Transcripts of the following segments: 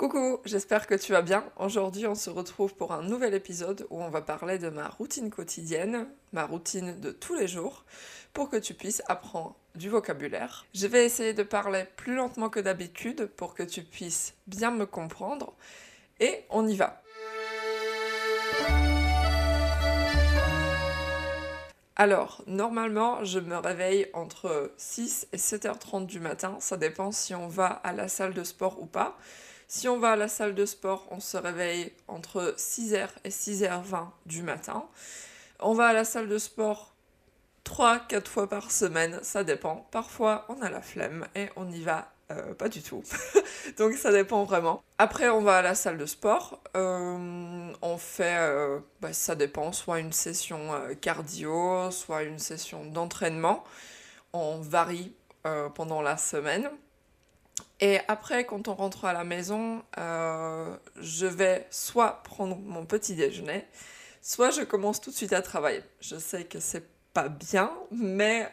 Coucou, j'espère que tu vas bien. Aujourd'hui, on se retrouve pour un nouvel épisode où on va parler de ma routine quotidienne, ma routine de tous les jours, pour que tu puisses apprendre du vocabulaire. Je vais essayer de parler plus lentement que d'habitude pour que tu puisses bien me comprendre. Et on y va. Alors, normalement, je me réveille entre 6 et 7h30 du matin. Ça dépend si on va à la salle de sport ou pas. Si on va à la salle de sport, on se réveille entre 6h et 6h20 du matin. On va à la salle de sport 3-4 fois par semaine, ça dépend. Parfois, on a la flemme et on n'y va pas du tout. Donc ça dépend vraiment. Après, on va à la salle de sport. On fait, ça dépend, soit une session cardio, soit une session d'entraînement. On varie pendant la semaine. Et après, quand on rentre à la maison, je vais soit prendre mon petit déjeuner, soit je commence tout de suite à travailler. Je sais que c'est pas bien, mais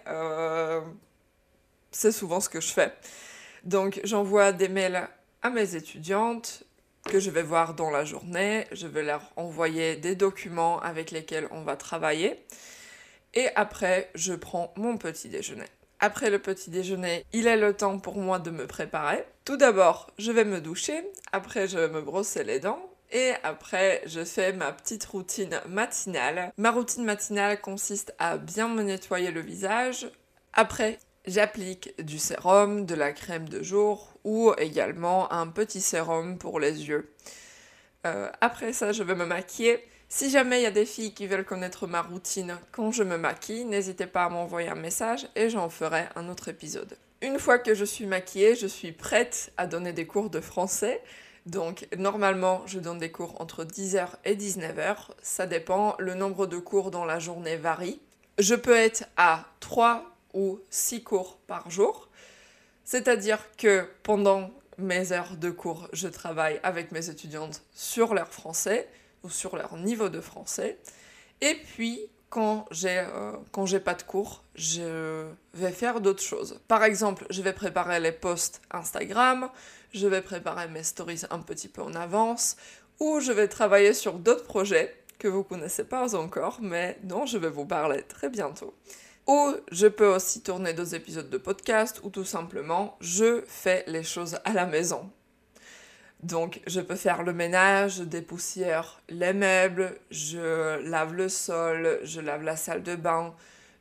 c'est souvent ce que je fais. Donc j'envoie des mails à mes étudiantes que je vais voir dans la journée. Je vais leur envoyer des documents avec lesquels on va travailler. Et après, je prends mon petit déjeuner. Après le petit déjeuner, il est le temps pour moi de me préparer. Tout d'abord, je vais me doucher, après je vais me brosser les dents, et après je fais ma petite routine matinale. Ma routine matinale consiste à bien me nettoyer le visage. Après, j'applique du sérum, de la crème de jour, ou également un petit sérum pour les yeux. Après ça, je vais me maquiller. Si jamais il y a des filles qui veulent connaître ma routine quand je me maquille, n'hésitez pas à m'envoyer un message et j'en ferai un autre épisode. Une fois que je suis maquillée, je suis prête à donner des cours de français. Donc normalement, je donne des cours entre 10h et 19h. Ça dépend, le nombre de cours dans la journée varie. Je peux être à 3 ou 6 cours par jour. C'est-à-dire que pendant mes heures de cours, je travaille avec mes étudiantes sur leur français ou sur leur niveau de français. Et puis, quand j'ai pas de cours, je vais faire d'autres choses. Par exemple, je vais préparer les posts Instagram, je vais préparer mes stories un petit peu en avance, ou je vais travailler sur d'autres projets que vous connaissez pas encore, mais dont je vais vous parler très bientôt. Ou je peux aussi tourner 2 épisodes de podcast, ou tout simplement, je fais les choses à la maison. Donc, je peux faire le ménage, je dépoussière les meubles, je lave le sol, je lave la salle de bain,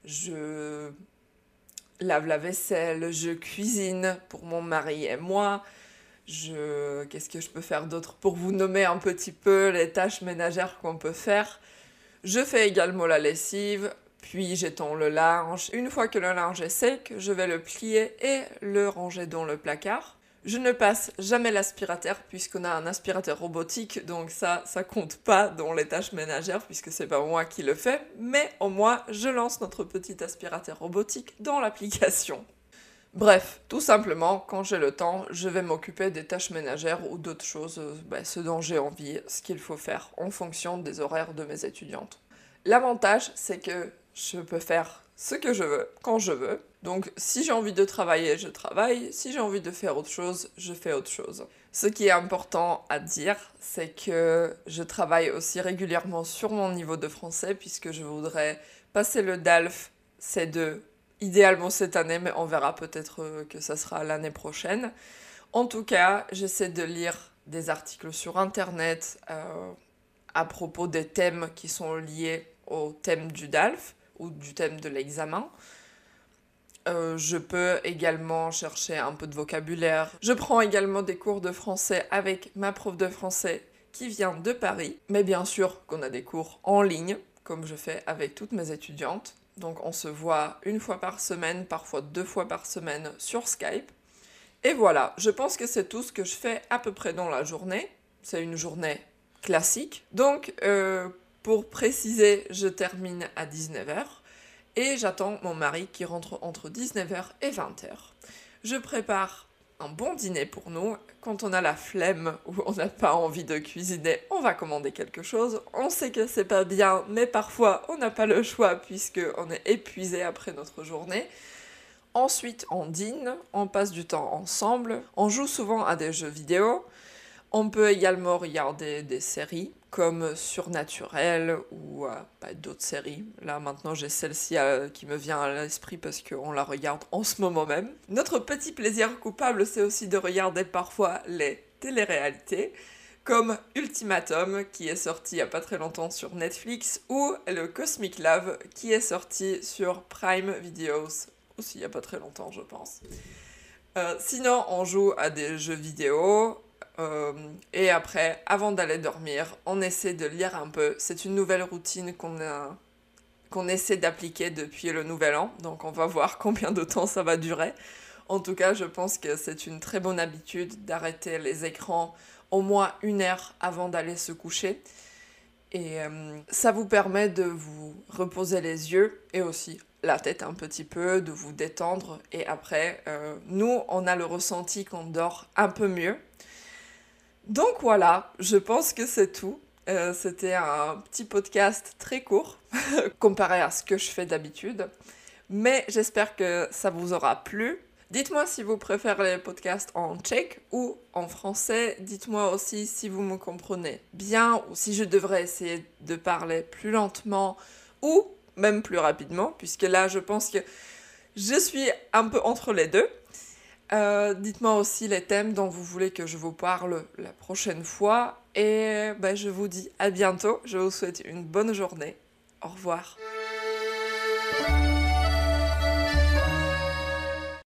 je lave la vaisselle, je cuisine pour mon mari et moi. Qu'est-ce que je peux faire d'autre pour vous nommer un petit peu les tâches ménagères qu'on peut faire? Je fais également la lessive, puis j'étends le linge. Une fois que le linge est sec, je vais le plier et le ranger dans le placard. Je ne passe jamais l'aspirateur puisqu'on a un aspirateur robotique, donc ça compte pas dans les tâches ménagères puisque c'est pas moi qui le fais, mais au moins je lance notre petit aspirateur robotique dans l'application. Bref, tout simplement, quand j'ai le temps, je vais m'occuper des tâches ménagères ou d'autres choses, ce dont j'ai envie, ce qu'il faut faire en fonction des horaires de mes étudiantes. L'avantage, c'est que je peux faire ce que je veux, quand je veux. Donc, si j'ai envie de travailler, je travaille. Si j'ai envie de faire autre chose, je fais autre chose. Ce qui est important à dire, c'est que je travaille aussi régulièrement sur mon niveau de français, puisque je voudrais passer le DALF C2, idéalement cette année, mais on verra peut-être que ça sera l'année prochaine. En tout cas, j'essaie de lire des articles sur Internet à propos des thèmes qui sont liés au thème du DALF ou du thème de l'examen. Je peux également chercher un peu de vocabulaire. Je prends également des cours de français avec ma prof de français qui vient de Paris. Mais bien sûr qu'on a des cours en ligne, comme je fais avec toutes mes étudiantes. Donc on se voit 1 fois par semaine, parfois 2 fois par semaine sur Skype. Et voilà, je pense que c'est tout ce que je fais à peu près dans la journée. C'est une journée classique. Donc, pour préciser, je termine à 19h. Et j'attends mon mari qui rentre entre 19h et 20h. Je prépare un bon dîner pour nous. Quand on a la flemme ou on n'a pas envie de cuisiner, on va commander quelque chose. On sait que c'est pas bien, mais parfois on n'a pas le choix puisqu'on est épuisé après notre journée. Ensuite, on dîne, on passe du temps ensemble, on joue souvent à des jeux vidéo. On peut également regarder des séries comme Surnaturel ou d'autres séries. Là maintenant j'ai celle-ci qui me vient à l'esprit parce qu'on la regarde en ce moment même. Notre petit plaisir coupable, c'est aussi de regarder parfois les téléréalités comme Ultimatum qui est sorti il y a pas très longtemps sur Netflix ou le Cosmic Love qui est sorti sur Prime Videos aussi il y a pas très longtemps je pense. Sinon on joue à des jeux vidéo. Et après, avant d'aller dormir, on essaie de lire un peu. C'est une nouvelle routine qu'on essaie d'appliquer depuis le nouvel an. Donc on va voir combien de temps ça va durer. En tout cas, je pense que c'est une très bonne habitude d'arrêter les écrans au moins 1 heure avant d'aller se coucher. Et ça vous permet de vous reposer les yeux et aussi la tête un petit peu, de vous détendre. Et après, nous, on a le ressenti qu'on dort un peu mieux. Donc voilà, je pense que c'est tout. C'était un petit podcast très court comparé à ce que je fais d'habitude. Mais j'espère que ça vous aura plu. Dites-moi si vous préférez les podcasts en tchèque ou en français. Dites-moi aussi si vous me comprenez bien ou si je devrais essayer de parler plus lentement ou même plus rapidement, puisque là je pense que je suis un peu entre les deux. Dites-moi aussi les thèmes dont vous voulez que je vous parle la prochaine fois. Et je vous dis à bientôt. Je vous souhaite une bonne journée. Au revoir.